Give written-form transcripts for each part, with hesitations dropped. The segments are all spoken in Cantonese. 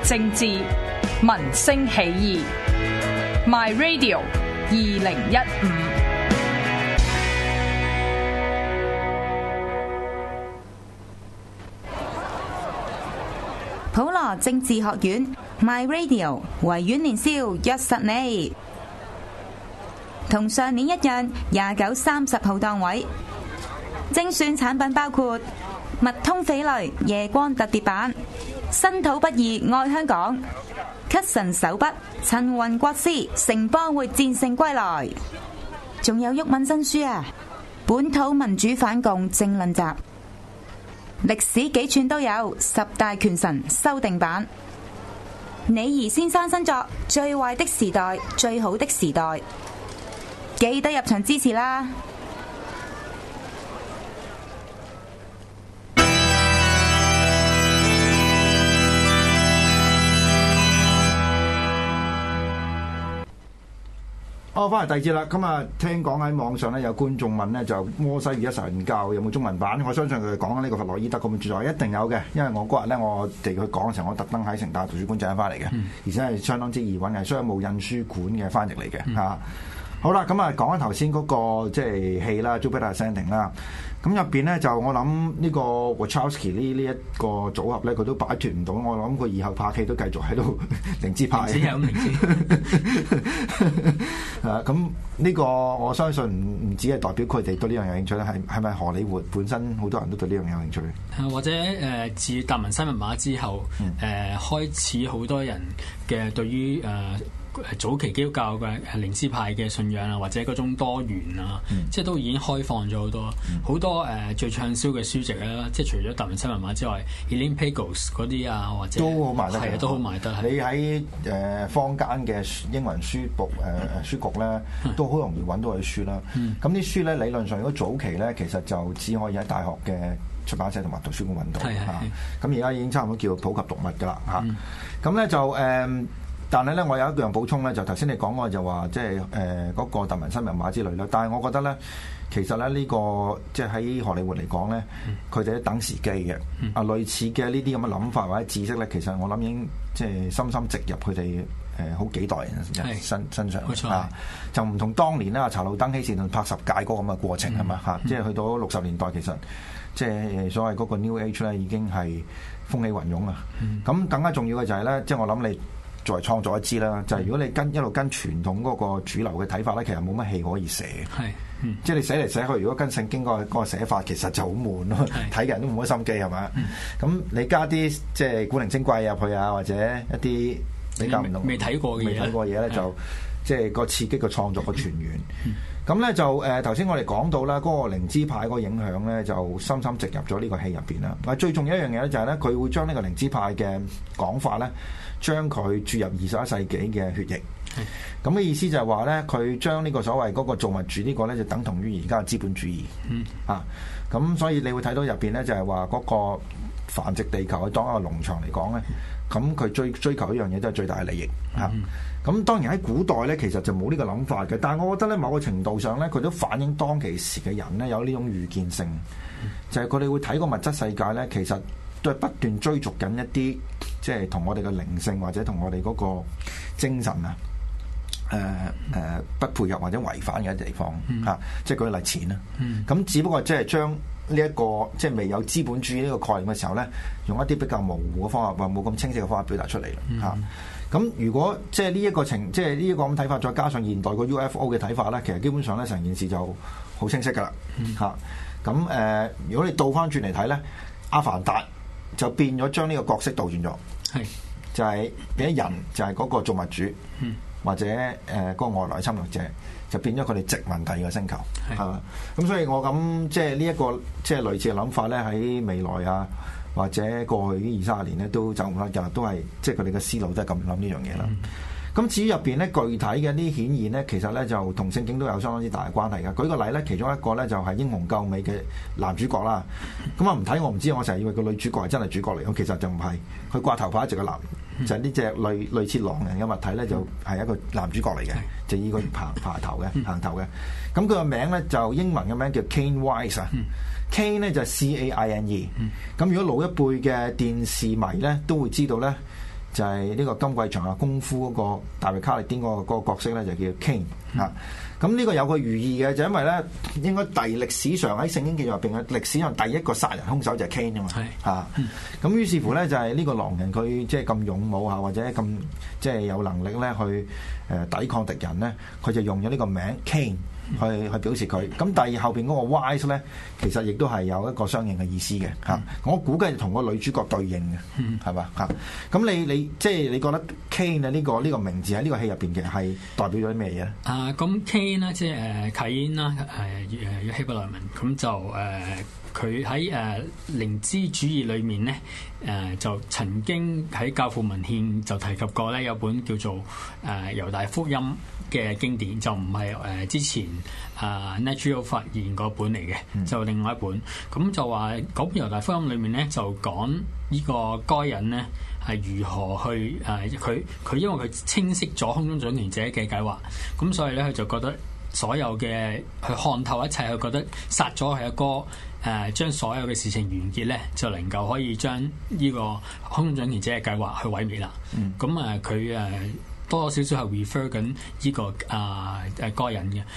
政治，民聲起義。My Radio 2015。 普羅政治學院 My Radio 維園年宵約實你，同上年一樣，29、30號檔位。精選產品包括密通翡翠夜光特別版、身土不二愛香港、咳神手筆陳雲國師城邦會戰勝歸來，仲有毓民新書啊，本土民主反共政論集。歷史幾寸都有10大權臣修訂版，李怡先生新作《最壞的時代，最好的時代》，記得入場支持啦！ 翻嚟第二節啦，咁啊聽講喺網上咧有觀眾問咧就摩西與一神教有冇中文版？我相信佢哋講緊呢個弗洛伊德咁嘅著作一定有嘅，因為我嗰日咧我哋去講嘅時候，我特登喺城大圖書館借翻嚟嘅，而且係相當之易揾嘅，商務印書館嘅翻譯嚟嘅嚇。好啦，咁啊講緊頭先嗰個即係戲啦 Jupiter Ascending 啦。咁入邊咧就我諗呢個 Wachowski 呢一個組合咧，佢都擺脫唔到。我諗佢以後拍戲都繼續喺度靈知派。咁呢個我相信唔止係代表佢哋對呢樣有興趣咧，係咪荷里活本身好多人都對呢樣有興趣？ 或者自達文西密碼之後，開始好多人嘅對於早期基督教嘅靈知派嘅信仰啊，或者嗰種多元啊，即係都已經開放咗好多，好多最暢銷嘅書籍啦，即係除咗達文西密碼之外 Elaine Pagels 嗰啲啊，或者都好賣得， 係啊，都好賣得。 你喺坊間嘅英文書局咧，都好容易揾到佢書啦。咁啲書咧理論上如果早期咧，其實就只可以喺大學嘅出版社同埋圖書館揾到嚇。咁而家已經差唔多叫普及讀物㗎啦嚇。咁咧就但係咧，我有一樣補充咧，就頭先你講過就話，即係嗰個達文西密碼之類啦。但係我覺得咧，其實咧呢個即係喺荷里活嚟講咧，佢哋都等時機嘅。類似嘅呢啲咁嘅諗法或者知識咧，其實我諗已經即係深深植入佢哋好幾代人身上啊。就唔同當年啦，查魯登希士頓拍10屆嗰個咁嘅過程係嘛嚇，即係去到60年代其實即係所謂嗰個 New Age 咧已經係風起雲湧啊。咁更加重要嘅就係咧，即係我諗你作為創作一支啦，就係如果你一路跟傳統嗰個主流嘅睇法咧，其實冇乜戲可以寫。即係你寫嚟寫去，如果跟聖經嗰個寫法，其實就好悶咯，睇嘅人都冇乜心機係嘛。咁你加啲即係古靈精怪入去啊，或者一啲比較唔同未睇過嘅嘢咧，就即係個刺激個創作個傳源。咁咧就頭先我哋講到啦，嗰個靈知派嗰個影響咧，就深深植入咗呢個戲入邊啦。但係最重要一樣嘢咧，就係咧佢會將呢個靈知派嘅講法咧，將佢注入21世紀嘅血液。咁嘅意思就係話咧，佢將呢個所謂嗰個造物主呢個咧，就等同於而家嘅資本主義。咁所以你會睇到入邊咧，就係話嗰個繁殖地球去當一個農場嚟講咧，咁佢追求一樣嘢都係最大嘅利益嚇。咁當然喺古代咧，其實就冇呢個諗法嘅。但係我覺得咧，某個程度上咧，佢都反映當其時嘅人咧有呢種預見性，就係佢哋會睇個物質世界咧，其實都係不斷追逐緊一啲即係同我哋嘅靈性或者同我哋嗰個精神啊不配合或者違反嘅地方嚇。即係舉例錢啦。咁只不過即係將呢一個即係未有資本主義呢個概念嘅時候咧，用一啲比較模糊嘅方法或冇咁清晰嘅方法表達出嚟啦嚇。咁如果即係呢一個即係呢一個咁睇法，再加上現代個 UFO 嘅睇法咧，其實基本上咧成件事就好清晰噶啦嚇。咁如果你倒翻轉嚟睇咧，阿凡達就變咗將呢個角色倒轉咗，就係變咗人就係嗰個造物主，或者嗰個外來侵略者，就變咗佢哋殖民第二個星球係嘛。咁所以我諗即係呢一個即係類似嘅諗法咧，喺未來啊，或者過去呢20-30年咧都走唔甩㗎，都係即係佢哋嘅思路都係咁諗呢樣嘢啦。咁至於入邊咧具體嘅啲顯現咧，其實咧就同聖經都有相當之大嘅關係嘅。舉個例咧，其中一個咧就係英雄救美嘅男主角啦。咁啊唔睇我唔知，我成日以為個女主角係真係主角嚟，咁其實就唔係。佢掛頭髮一直個男，就係呢隻類似狼人嘅物體咧，就係一個男主角嚟嘅，就以個行頭嘅。咁佢個名咧就英文嘅名叫 Cain Wise 啊。Cain 咧就係 Caine。咁如果老一輩嘅電視迷咧都會知道咧。 就係呢個金貴場啊功夫嗰個大衛卡利甸嗰個角色咧，就叫 Cain 嚇。咁呢個有個寓意嘅，就因為咧應該歷史上喺聖經記載入邊嘅歷史上第一個殺人兇手就係 Cain 啊嘛嚇。咁於是乎咧就係呢個狼人佢即係咁勇武嚇，或者咁即係有能力咧去抵抗敵人咧，佢就用咗呢個名 Cain。去表示佢，咁第二後邊嗰個 wise 咧，其實亦都係有一個相應嘅意思嘅嚇。我估計同個女主角對應嘅，係嘛嚇？咁你即係你覺得 Cain 啊呢個名字喺呢個戲入邊嘅係代表咗啲咩嘢咧？ 咁 Cain 啦，即係卡因啦，希伯來文，咁就佢喺靈知主義裏面咧，就曾經喺教父文獻就提及過咧，有本叫做猶大福音嘅經典，就唔係之前Natural 發現嗰本嚟嘅，就另外一本。咁就話嗰本猶大福音裏面咧，就講呢個該人咧係如何去佢因為佢清晰咗空中掌權者嘅計劃，咁所以咧佢就覺得所有嘅去看透一切，佢覺得殺咗佢阿哥。將所有嘅事情完結咧，就能夠可以將呢個空中掌權者嘅計劃去毀滅啦。咁佢多少少係 refer 緊呢個該人嘅。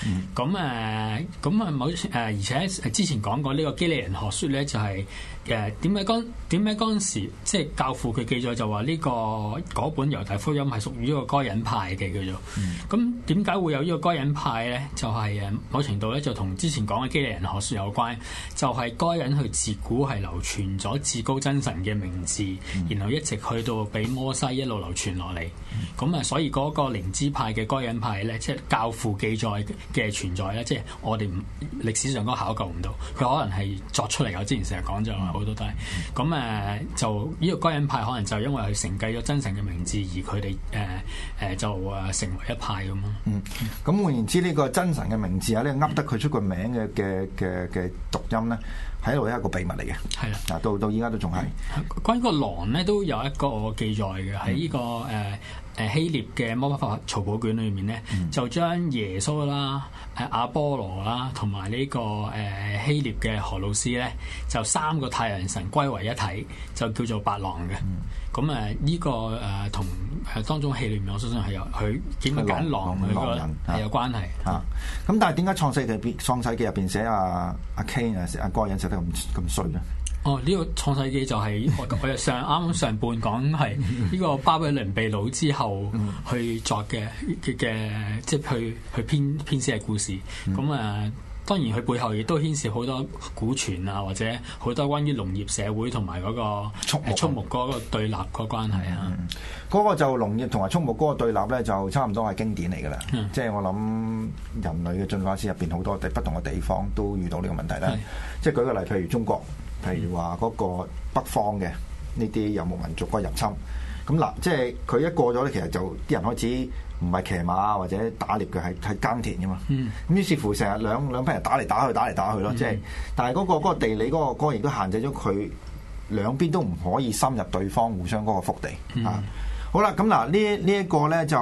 而且之前講過呢個基利人學說咧，就係點解嗰陣時即係教父佢記載就話呢嗰本猶大福音係屬於呢個該人派嘅叫做。咁點解會有呢個該人派咧？就係某程度咧就同之前講嘅基利人學說有關，就係該人去自古係流傳咗至高真神嘅名字，然後一直去到俾摩西一路流傳落嚟。咁所以嗰個靈知派嘅該人派咧，即係教父記載嘅存在咧，即係我哋歷史上都考究唔到，佢可能係作出嚟。我之前成日講咗好多都係咁就呢個該人派可能就因為佢承繼咗真神嘅名字，而佢哋就成為一派咁咯。 咁換言之，呢個真神嘅名字啊，呢噏得佢出個名嘅讀音咧，喺度係一個秘密嚟嘅。係啦，嗱到依家都仲係。 關於個狼咧，都有一個記載嘅喺呢個希臘嘅魔法曹寶卷裏面咧，就將耶穌啦、阿波羅啦，同埋呢個希臘嘅荷魯斯咧，就三個太陽神歸為一體，就叫做白狼嘅。咁呢個同當中戲裏面，我相信係有佢點樣揀狼佢個係有關係嚇。 咁但係點解創世記入邊寫阿 Cain 阿該人寫得咁衰咧？ 呢個創世記就係我啱啱上半講係呢個巴比倫被擄之後去作嘅，即係去編寫嘅故事。當然佢背後亦都牽涉好多古傳啊，或者好多關於農業社會同埋嗰個畜牧嗰個對立個關係啊。 嗰個就農業同埋畜牧嗰個對立咧，就差唔多係經典嚟㗎啦。即係我諗人類嘅進化史入邊好多不同嘅地方都遇到呢個問題啦。即係舉個例，譬如中國。譬如話嗰個北方嘅呢啲遊牧民族嗰個入侵，咁嗱，即係佢一過咗咧，其實就啲人開始唔係騎馬或者打獵嘅，係耕田㗎嘛。咁於是乎成日兩批人打嚟打去咯，即係，但係嗰個地理嗰個亦都限制咗佢兩邊都唔可以深入對方互相嗰個腹地啊。好啦，咁嗱呢一個咧就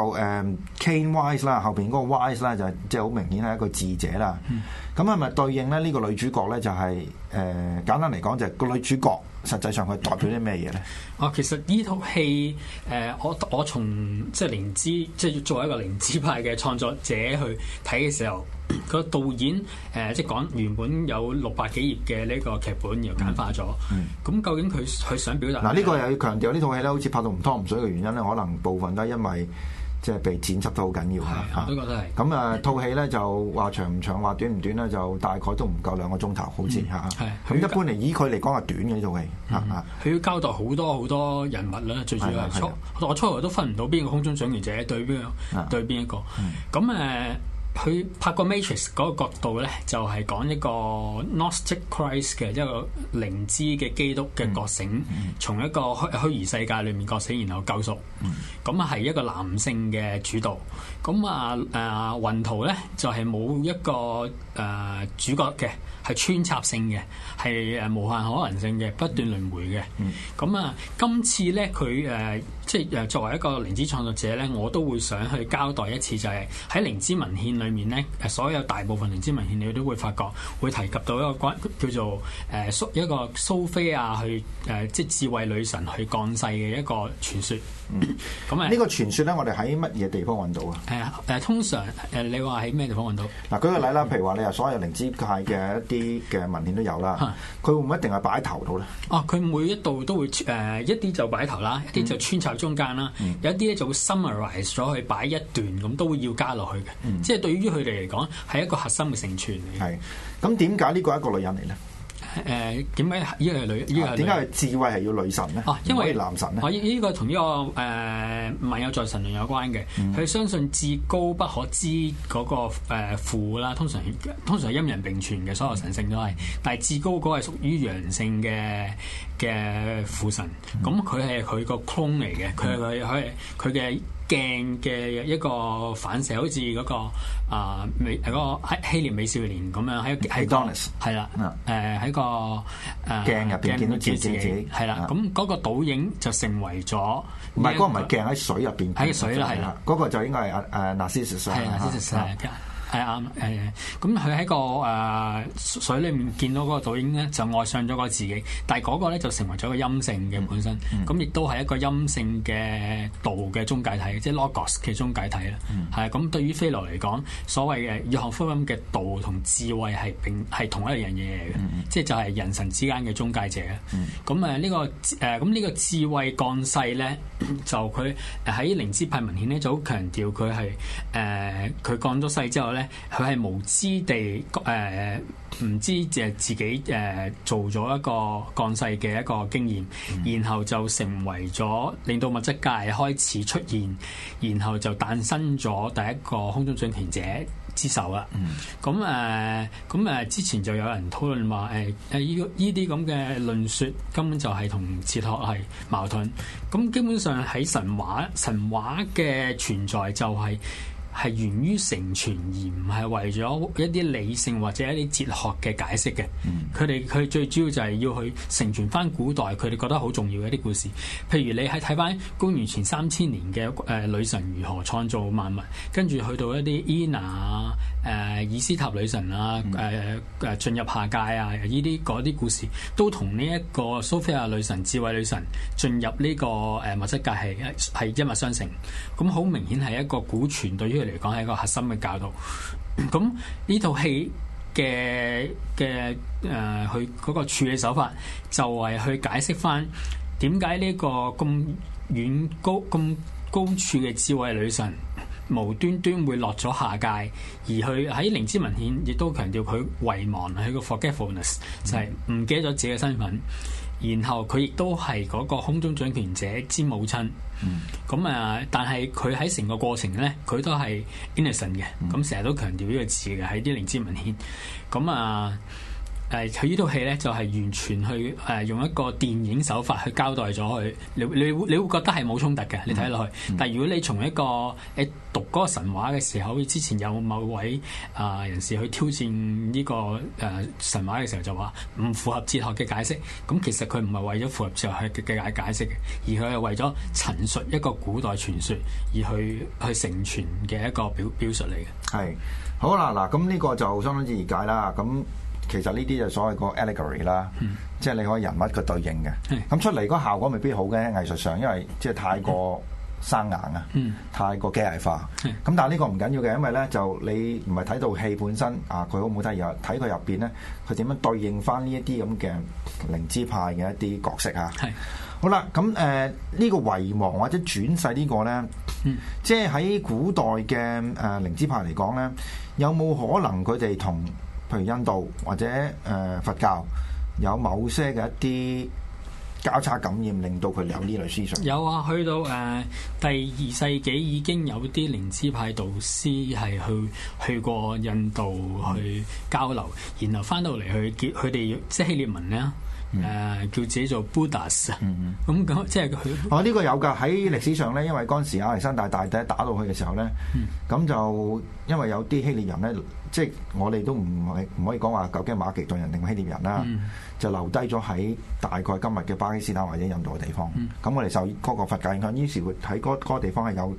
Cain Wise 啦，後邊嗰個 Wise 啦就即係好明顯係一個智者啦。咁係咪對應咧呢個女主角咧就係簡單嚟講就係個女主角實際上佢代表啲咩嘢咧？ 其實呢套戲我從即係靈知，即係作為一個靈知派嘅創作者去睇嘅時候，個導演即係講原本有600幾頁嘅呢個劇本，然後簡化咗。咁究竟佢想表達？嗱，呢個又要強調呢套戲咧，好似拍到唔湯唔水嘅原因咧，可能部分都係因為即係被剪輯得好緊要嚇。 我都覺得係。 咁套戲咧就話長唔長，話短唔短咧，就大概都唔夠2個鐘頭，好似嚇。咁一般嚟以佢嚟講係短嘅呢套戲嚇。佢要交代好多人物啦，最主要係我初頭都分唔到邊個空中掌權者對邊一個。咁佢拍個 Matrix 嗰個角度咧，就係講一個 Gnostic Christ 嘅一個靈知嘅基督嘅覺醒，從一個虛擬世界裏面覺醒，然後救贖。咁係一個男性嘅主導。咁雲圖咧就係冇一個主角嘅，係穿插性嘅，係無限可能性嘅，不斷輪迴嘅。咁今次咧佢即係作為一個靈知創作者咧，我都會想去交代一次，就係喺靈知文獻裏裏面咧，所有大部分靈知文獻你都會發覺會提及到一個叫做一個蘇菲亞去即係智慧女神去降世嘅一個傳說。咁呢個傳說咧，我哋喺乜嘢地方揾到啊？ 通常你話喺咩地方揾到？ 嗱，舉個例啦，譬如話你話所有靈知派嘅一啲嘅文獻都有啦，佢會唔會一定係擺喺頭度咧？哦， 佢每一度都會一啲就擺喺頭啦，一啲就穿插中間啦，有一啲咧就會 summarize 咗去擺一段咁，都會要加落去嘅。即係對於佢哋嚟講係一個核心嘅成全嚟嘅。 係，咁點解呢個係一個女人嚟咧？ 點解呢個係女？點解係智慧係要女神咧？ 因為男神咧？ 呢個同呢個萬有在神論有關嘅。佢相信至高不可知嗰個父啦，通常係陰陽並存嘅，所有神性都係。但係至高嗰個係屬於陽性嘅父神，咁佢係佢個 clone 嚟嘅，佢嘅鏡嘅一個反射，好似嗰個希臘美少年咁樣喺係啦，喺個鏡入邊見到自己係啦，咁嗰個倒影就成為咗唔係嗰個唔係鏡喺水入邊喺水啦，係啦， 嗰個就應該係Narcissus 係啱咁佢喺個水裏面見到嗰個倒影咧，就愛上咗個自己，但係嗰個咧就成為咗個陰性嘅本身，咁亦都係一個陰性嘅道嘅中介體，即係 Logos 嘅中介體啦。係咁，對於菲羅嚟講，所謂嘅約翰福音嘅道同智慧係同一樣嘢嚟嘅，即係就係人神之間嘅中介者啦。咁呢個智慧降世咧，就佢喺靈知派文獻咧就好強調佢係佢降咗世之後咧。佢係無知地唔知自己做咗一個降世嘅一個經驗，然後就成為咗令到物質界開始出現，然後就誕生咗第一個空中掌權者之手啦。咁之前就有人討論話呢啲咁嘅論說根本就係同哲學係矛盾。咁基本上喺神話嘅存在就係源於成全，而唔係為咗一啲理性或者一啲哲學嘅解釋嘅。佢最主要就係要去成全翻古代佢哋覺得好重要嘅一啲故事。譬如你係睇翻公元前3000年嘅女神如何創造萬物，跟住去到一啲伊娜啊、以斯塔女神啊、進入下界啊，嗰啲故事都同呢一個蘇菲亞女神、智慧女神進入呢個物質界係一脈相承。咁好明顯係一個古傳，對於佢嚟講係一個核心嘅教導。咁呢套戲嘅佢嗰個處理手法就係去解釋翻點解呢個咁高處嘅智慧女神無端端會落咗下界，而佢喺靈知文獻亦都強調佢遺忘，佢個 forgetfulness 就係唔記得咗自己嘅身份。然後佢亦都係嗰個空中掌權者之母親。但係佢喺成個過程咧，佢都係 innocent 嘅。咁成日都強調呢個字嘅喺啲靈知文獻。佢呢套戲咧就係完全去用一個電影手法去交代咗佢，你會覺得係冇衝突嘅，你睇落去。但係如果你從一個你讀嗰個神話嘅時候，之前有某位人士去挑戰呢個神話嘅時候，就話唔符合哲學嘅解釋。咁其實佢唔係為咗符合哲學嘅解釋嘅，而佢係為咗陳述一個古代傳說而去成全嘅一個表述嚟嘅。 係好啦，嗱咁呢個就相當之易解啦。咁其實呢啲就所謂個 allegory 啦，即係你可以人物嘅對應嘅。咁出嚟嗰效果未必好嘅，藝術上，因為即係太過生硬啊，太過機械化。咁但係呢個唔緊要嘅，因為咧就你唔係睇到戲本身啊，佢好唔好睇，而係睇佢入邊咧，佢點樣對應翻呢一啲咁嘅靈知派嘅一啲角色啊。好啦，咁呢個遺忘或者轉世呢個咧，即係喺古代嘅靈知派嚟講咧，有冇可能佢哋同譬如印度或者佛教有某些嘅一啲交叉感染，令到佢有呢類思想？有啊，去到第2世紀已經有啲靈知派導師係去過印度去交流，然後翻到嚟去叫佢哋即係希臘文咧。叫自己做 Buddhas，咁即係佢。呢個有㗎，喺歷史上咧，因為嗰陣時亞歷山大大帝打到去嘅時候咧，咁就因為有啲希臘人咧，即係我哋都唔可以講話究竟馬其頓人定希臘人啦，就留低咗喺大概今日嘅巴基斯坦或者印度嘅地方。咁我哋受嗰個佛教影響，於是會喺嗰個地方係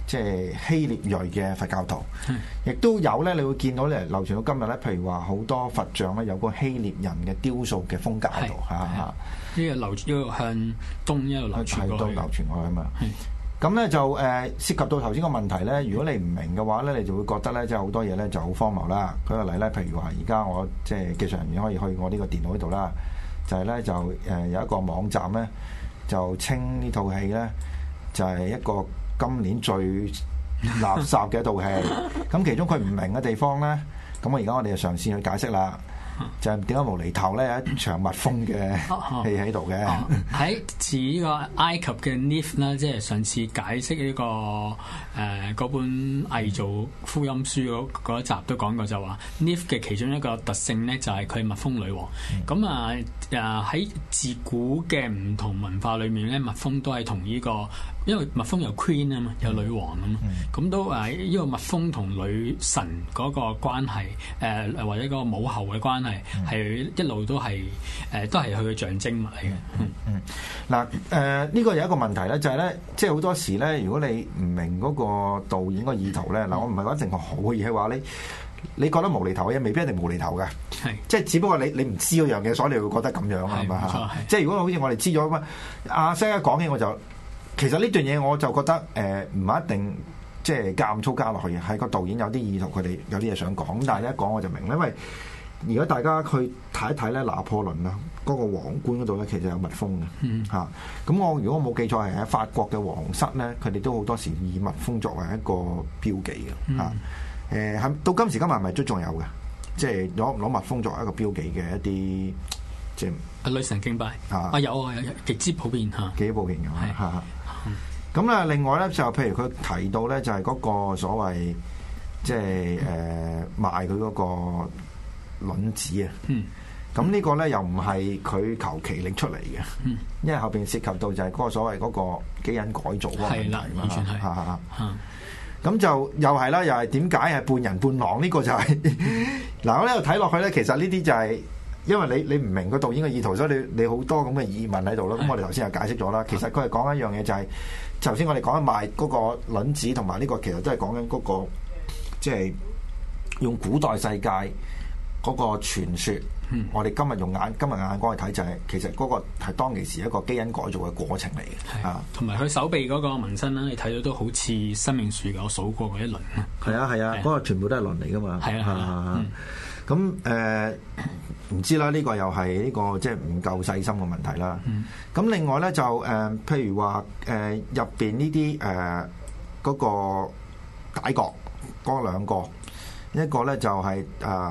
即係希臘裔嘅佛教徒，亦都有咧，你會見到咧流傳到今日咧，譬如話好多佛像咧有個希臘人嘅雕塑嘅風格喺度嚇。 呢個流一路向東一路流傳過去， 流傳過去啊嘛。咁咧就涉及到頭先個問題咧，如果你唔明嘅話咧，你就會覺得咧，即係好多嘢咧就好荒謬啦。舉個例咧，譬如話而家我即係技術人員可以去我呢個電腦嗰度啦，就係咧就有一個網站咧就稱呢套戲咧就係一個今年最垃圾嘅一套戲。咁其中佢唔明嘅地方咧，咁我而家我哋就嘗試去解釋啦。就係點解無厘頭咧有一場蜜蜂嘅戲喺度嘅？ 喺似呢個埃及嘅 Nif 啦，即係上次解釋呢個嗰本偽造福音書嗰一集都講過，就話 Nif 嘅其中一個特性咧就係佢係蜜蜂女王。咁喺自古嘅唔同文化裏面咧，蜜蜂都係同呢個，因為蜜蜂有 Queen 啊嘛，有女王啊嘛，咁都呢個蜜蜂同女神嗰個關係，或者嗰個母后嘅關係，係一路都係都係佢嘅象徵物嚟嘅。 嗱呢個有一個問題咧，就係咧，即係好多時咧，如果你唔明嗰個導演個意圖咧，嗱我唔係話一定係好嘅，而係話你覺得無厘頭嘅嘢，未必一定無厘頭嘅，即係只不過你唔知嗰樣嘢，所以你會覺得咁樣啊嘛嚇。即係如果好似我哋知咗咁阿西一講起我就。其實呢段嘢我就覺得唔係一定即係夾粗加落去嘅，係個導演有啲意圖，佢哋有啲嘢想講。但係一講我就明，因為如果大家去睇一睇咧，拿破崙啊嗰個皇冠嗰度咧，其實有蜜蜂嘅嚇。咁我如果我冇記錯係喺法國嘅皇室咧，佢哋都好多時以蜜蜂作為一個標記嘅嚇。係到今時今日係咪都仲有嘅？即係攞蜜蜂作為一個標記嘅一啲即係女神敬拜有極之普遍嚇， 極之普遍嘅嚇。咁啊，另外咧就譬如佢提到咧，就係嗰個所謂即係賣佢嗰個卵子啊。咁呢個咧又唔係佢求其拎出嚟嘅，因為後邊涉及到就係嗰個所謂嗰個基因改造嗰個問題嘛。 完全係。 咁就又係啦，又係點解係半人半狼？呢個就係嗱，我呢度睇落去咧，其實呢啲就係。因為你唔明個導演嘅意圖，所以你好多咁嘅疑問喺度咯。咁我哋頭先又解釋咗啦。其實佢係講一樣嘢，就係頭先我哋講緊賣嗰個卵子，同埋呢個其實都係講緊嗰個即係用古代世界嗰個傳說。我哋今日用今日眼光去睇，就係其實嗰個係當其時一個基因改造嘅過程嚟嘅。啊，同埋佢手臂嗰個紋身啦，你睇到都好似生命樹嘅，我數過嗰一輪。 係啊，嗰個全部都係輪嚟噶嘛。係啊。咁唔知啦，呢個又係呢個即係唔夠細心嘅問題啦。咁另外咧就譬如話入邊呢啲嗰個解角嗰兩個，一個咧就係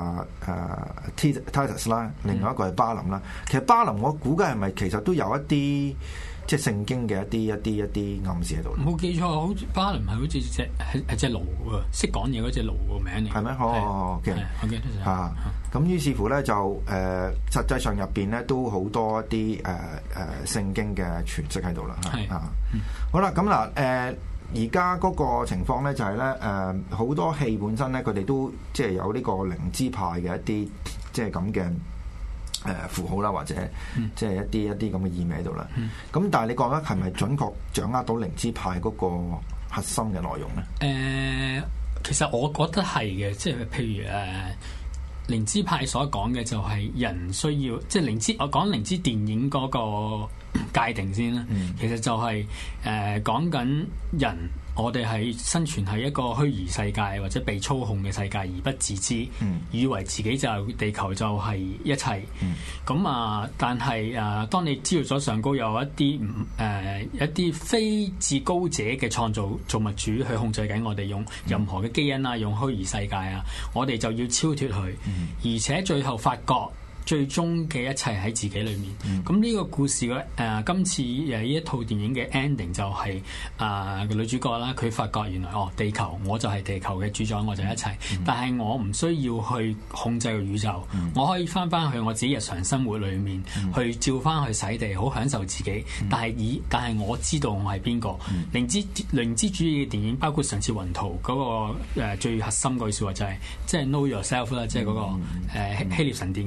Titus 啦，另外一個係巴林啦。其實巴林我估計係咪其實都有一啲即係聖經嘅一啲暗示喺度？ 冇記錯，好似巴林係好似隻驢喎，識講嘢嗰隻驢個名嚟。 係咩？我記得嚇。咁於是乎咧就實際上入邊咧都好多一啲聖經嘅詮釋喺度啦。係好啦，咁嗱而家嗰個情況咧就係咧好多戲本身咧佢哋都即係有呢個靈知派嘅一啲即係咁嘅符號啦，或者即係一啲咁嘅意味喺度啦。咁但係你覺得係咪準確掌握到靈知派嗰個核心嘅內容咧？ 其實我覺得係嘅，即係譬如靈知派所講嘅就係人需要，即係靈知。我講靈知電影嗰個界定先啦。其實就係講緊人，我哋係生存喺一個虛擬世界或者被操控嘅世界而不自知，以為自己就地球就係一切。咁但係當你知道咗上高有一啲非至高者嘅創造物主去控制緊我哋，用任何嘅基因啊，用虛擬世界啊，我哋就要超脫佢，而且最後發覺最終嘅一切喺自己裏面。咁呢個故事嘅今次呢一套電影嘅 ending 就係個女主角啦，佢發覺原來地球我就係地球嘅主宰，我就係一切。但係我唔需要去控制個宇宙，我可以翻去我自己日常生活裏面去照翻去洗地，好享受自己。但係我知道我係邊個。靈知主義嘅電影包括上次雲圖嗰個最核心嗰句説話就係即係 know yourself 啦，即係嗰個希臘神殿嗰度寫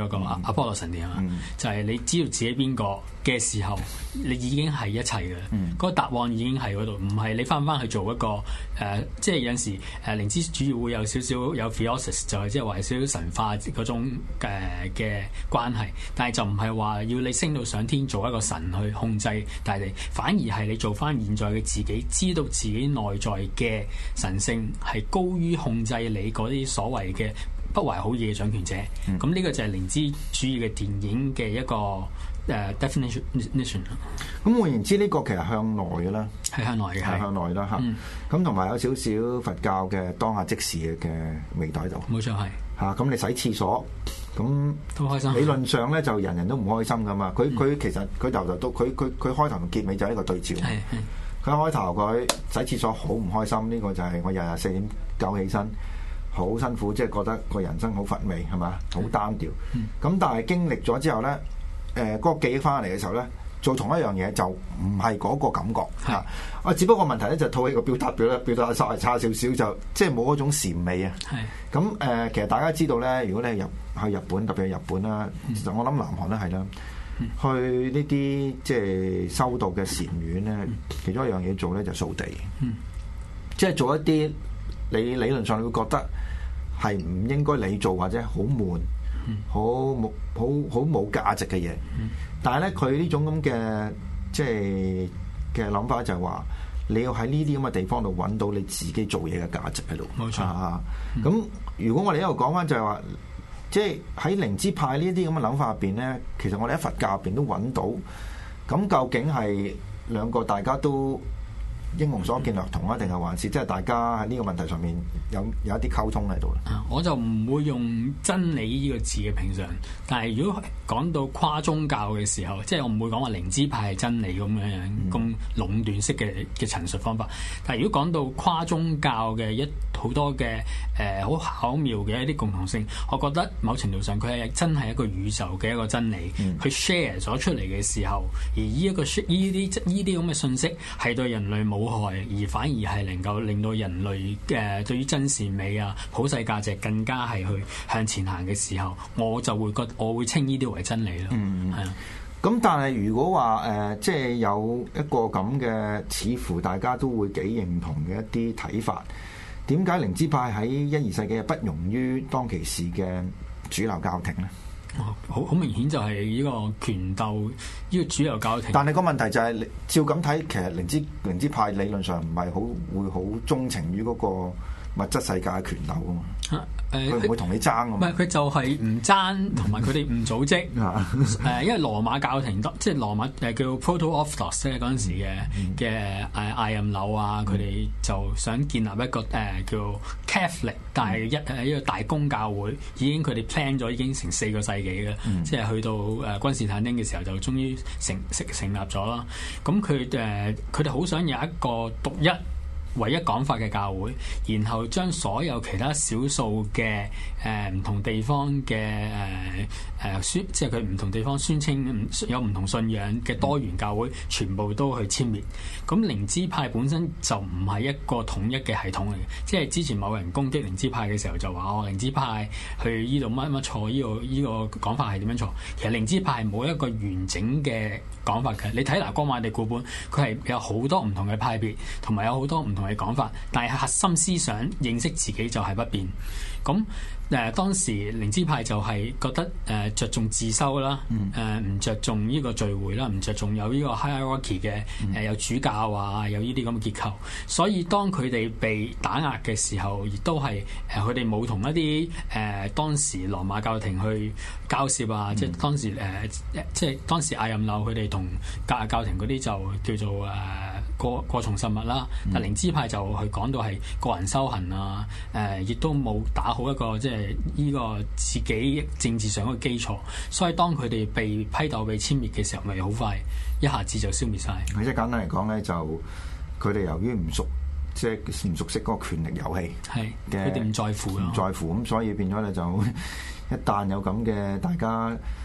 嗰個阿波羅神殿啊嘛，就係你知道自己邊個嘅時候，你已經係一切嘅，嗰個答案已經係嗰度，唔係你翻去做一個即係有陣時靈知主義會有少少有 theosis， 就係即係話少少神化嗰種嘅關係，但係就唔係話要你升到上天做一個神去控制大地，反而係你做翻現在嘅自己，知道自己內在嘅神性係高於控制你嗰啲所謂嘅不懷好意嘅掌權者。咁呢個就係靈知主義嘅電影嘅一個definition。 咁換言之，呢個其實向內嘅啦， 係向內嘅， 係向內啦嚇。咁同埋有少少佛教嘅當下即時嘅味道喺度。冇錯係嚇。咁你洗廁所咁都開心。 理論上咧就人人都唔開心噶嘛。佢其實佢頭都佢開頭同結尾就係一個對照。佢開頭佢洗廁所好唔開心，呢個就係我日日4點9起身，好辛苦，即係覺得個人生好乏味係嘛，好單調。咁但係經歷咗之後咧，嗰個記憶翻嚟嘅時候咧，做同一樣嘢就唔係嗰個感覺嚇。只不過問題咧就套戲個表達稍為差少少，就即係冇嗰種禪味啊。咁其實大家知道咧，如果你去日本，特別係日本啦，其實我諗南韓都係啦。去呢啲即係修道嘅禪院咧，其中一樣嘢做咧就掃地，即係做一啲你理論上你會覺得係唔應該你做或者好悶、好冇價值嘅嘢，但係咧佢呢種咁嘅即係嘅諗法就係話，你要喺呢啲咁嘅地方度揾到你自己做嘢嘅價值喺度。冇錯啊！咁如果我哋一路講翻就係話，即係喺靈知派呢啲咁嘅諗法入邊咧，其實我哋喺佛教入邊都揾到。咁究竟係兩個大家都英雄所見略同啊，定係還是即係大家喺呢個問題上面有一啲溝通喺度咧？我就唔會用真理呢個字嘅平常，但係如果講到跨宗教嘅時候，即係我唔會講話靈知派係真理咁樣咁壟斷式嘅陳述方法。但係如果講到跨宗教嘅好多嘅好巧妙嘅一啲共同性，我覺得某程度上佢係真係一個宇宙嘅一個真理，佢 share 咗出嚟嘅時候，而呢啲咁嘅信息係對人類冇害，而反而係能夠令到人類對於真善美啊、普世價值更加係去向前行嘅時候，我就會我會稱呢啲為真理咯。係啊。咁但係如果話即係有一個咁嘅，似乎大家都會幾認同嘅一啲睇法，點解靈知派喺1、2世紀係不容於當其時嘅主流教廷咧？好明顯就係呢個權鬥，呢個主流教廷。但係個問題就係，照咁睇，其實靈知派理論上唔係會好鍾情於嗰個物質世界嘅權鬥噶嘛。佢唔會同你爭㗎嘛。唔係，佢就係唔爭，同埋佢哋唔組織。因為羅馬教廷即係羅馬叫 Proto-Orthodox 咧嗰陣時嘅艾任紐啊，佢哋就想建立一個叫 Catholic， 但係一個大公教會，已經佢哋 plan 咗已經成4個世紀嘅，即係去到君士坦丁嘅時候就終於成立咗啦。咁佢哋好想有一個獨一唯一講法嘅教會，然後將所有其他少數嘅唔同地方嘅即係佢唔同地方宣稱有唔同信仰嘅多元教會，全部都去殲滅。咁靈知派本身就唔係一個統一嘅系統嚟嘅，即係之前某人攻擊靈知派嘅時候就話靈知派去呢度乜錯，呢個講法係點樣錯？其實靈知派係冇一個完整嘅講法嘅。你睇嗱，光馬地古本，佢係有好多唔同嘅派別，同埋有好多唔同嘅講法，但係核心思想認識自己就係不變。咁當時靈知派就係覺得着重自修啦，唔着重呢個聚會啦，唔着重有呢個 hierarchy 嘅有主教啊，有呢啲咁嘅結構。所以當佢哋被打壓嘅時候，亦都係佢哋冇同一啲當時羅馬教廷去交涉啊，即係當時艾任紐佢哋同教廷嗰啲就叫做過從實物啦。但靈知派就去講到係個人修行啊，亦都冇打好一個即係呢個自己政治上嘅基礎，所以當佢哋被批鬥、被殲滅嘅時候，咪好快一下子就消滅晒。即係簡單嚟講咧，就佢哋由於唔熟悉嗰個權力遊戲，係佢哋唔在乎，咁所以變咗咧就一旦有咁嘅大家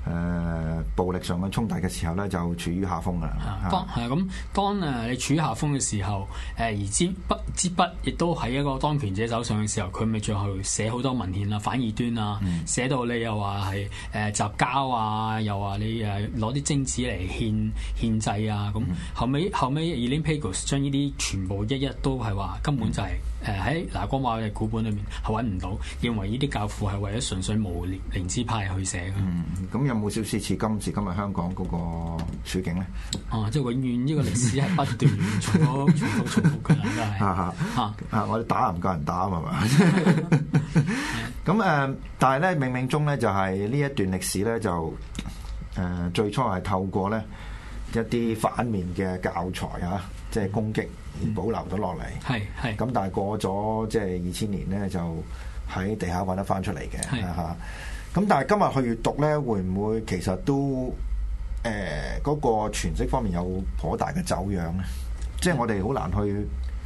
暴力上嘅衝突嘅時候咧，就處於下風㗎啦。 當你處於下風嘅時候，而支筆亦都喺一個當權者手上嘅時候，佢咪最後寫好多文獻啊、反異端啊，寫到你又話係雜交啊，又話你攞啲精子嚟獻祭啊，咁後尾 Elaine Pagels 將呢啲全部一都係話根本就係喺拿戈馬嘅古本裏面係揾唔到，認為呢啲教父係為咗純粹無靈知派去寫嘅。 咁有冇少少似今時今日香港嗰個處境咧？ 即係永遠呢個歷史係不斷重複㗎啦，都係我哋打唔夠人打啊嘛。咁但係咧，冥冥中咧就係呢一段歷史咧就最初係透過咧一啲反面嘅教材啊，即係攻擊而保留咗落嚟。係。咁但係過咗即係2000年咧，就喺地下揾得翻出嚟嘅嚇。咁但係今日去閱讀咧，會唔會其實都嗰個詮釋方面有頗大嘅走樣咧？即係我哋好難去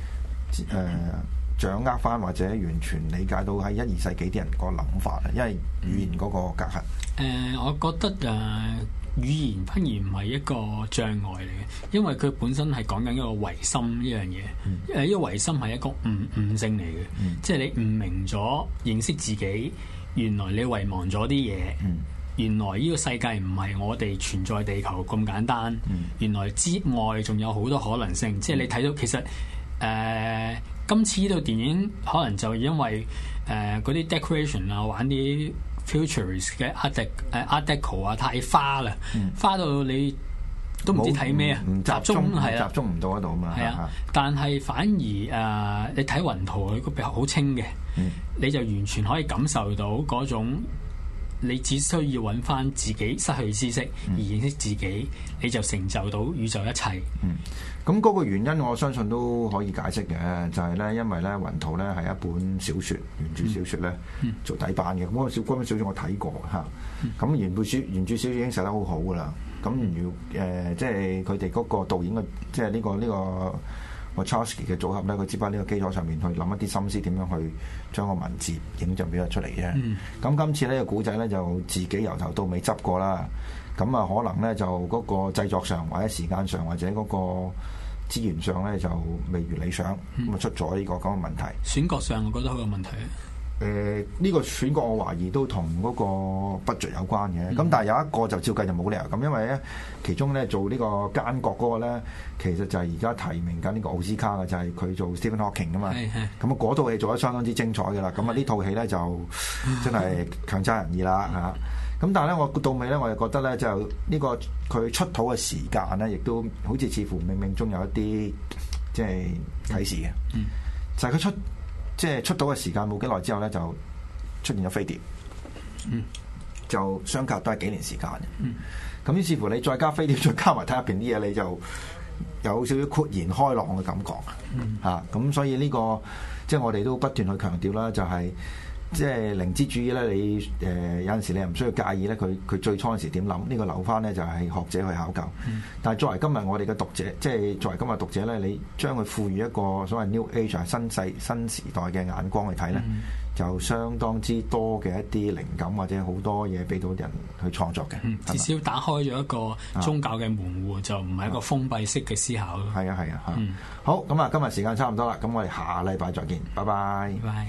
掌握翻或者完全理解到喺1、2世紀啲人個諗法啊，因為語言嗰個隔閡。 我覺得語言反而唔係一個障礙嚟嘅，因為佢本身係講緊一個唯心呢樣嘢。呢個唯心係一個悟性嚟嘅，即係你悟明咗認識自己。原來你遺忘咗啲嘢，原來呢個世界唔係我哋存在地球咁簡單，原來之外仲有好多可能性。即係你睇到其實今次呢套電影可能就因為嗰啲 decoration 啊，玩啲 futurist 嘅 art deco 啊，太花啦，花到你都唔知睇咩啊，集中唔到嗰度啊嘛。 係啊，但係反而你睇雲圖佢個比較好清嘅。你就完全可以感受到嗰種，你只需要揾翻自己失去知識而認識自己，你就成就到宇宙一切。 咁嗰個原因我相信都可以解釋嘅，就係咧，因為咧雲圖咧係一本小説，原著小説咧做底版嘅。嗰本小説我睇過嚇，咁原著小説已經寫得好好噶啦。咁即係佢哋嗰個導演嘅，即係呢個Wachowski 嘅組合咧，佢只不過呢個基礎上面去諗一啲心思，點樣去將個文字影像表達出嚟啫。咁今次呢個古仔咧就自己由頭到尾執過啦。咁啊，可能咧就嗰個製作上或者時間上或者嗰個資源上咧就未如理想，咁啊出咗呢個咁嘅問題。 選角上我覺得好有問題。 呢個選角我懷疑都同嗰個 budget 有關嘅，咁但係有一個就照計就冇理由咁，因為咧其中咧做呢個奸角嗰個咧，其實就係而家提名緊呢個奧斯卡嘅，就係佢做 Stephen Hawking 啊嘛。咁啊嗰套戲做得相當之精彩嘅啦，咁啊呢套戲咧就真係強差人意啦嚇。咁但係咧我到尾咧我就覺得咧就呢個佢出土嘅時間咧，亦都好似似乎冥冥中有一啲即係啟示嘅，就係佢出到嘅時間冇幾耐之後咧，就出現咗飛碟，就相隔都係幾年時間嘅。咁於是乎你再加飛碟，再加埋睇入邊啲嘢，你就有少少豁然開朗嘅感覺嚇。咁所以呢個即係我哋都不斷去強調啦，就係即係靈知主義咧。你有陣時你又唔需要介意咧，佢最初嗰時點諗？呢個留翻咧就係學者去考究。但係作為今日我哋嘅讀者，即係作為今日讀者咧，你將佢賦予一個所謂 New Age 新時代嘅眼光去睇咧，就相當之多嘅一啲靈感或者好多嘢俾到人去創作嘅。 至少打開咗一個宗教嘅門戶，就唔係一個封閉式嘅思考咯。 係啊好，咁啊今日時間差唔多啦，咁我哋下禮拜再見，拜拜。 拜拜。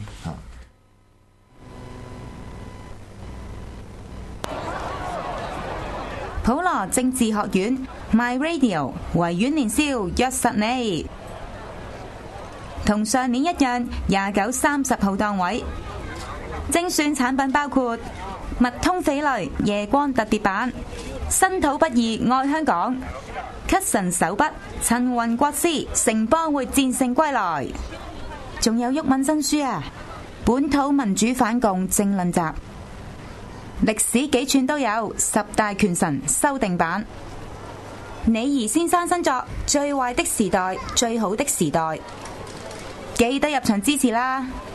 普羅政治學院 My Radio 維園年宵約實你，同上年一樣29、30號檔位。精選產品包括麥通翡翠夜光特別版、身土不二愛香港、咳神手筆陳雲國師城邦會戰勝歸來，仲有毓民新書啊，本土民主反共政論集。歷史幾串都有10大權臣修訂版，李儀先生新作《最壞的時代，最好的時代》，記得入場支持啦！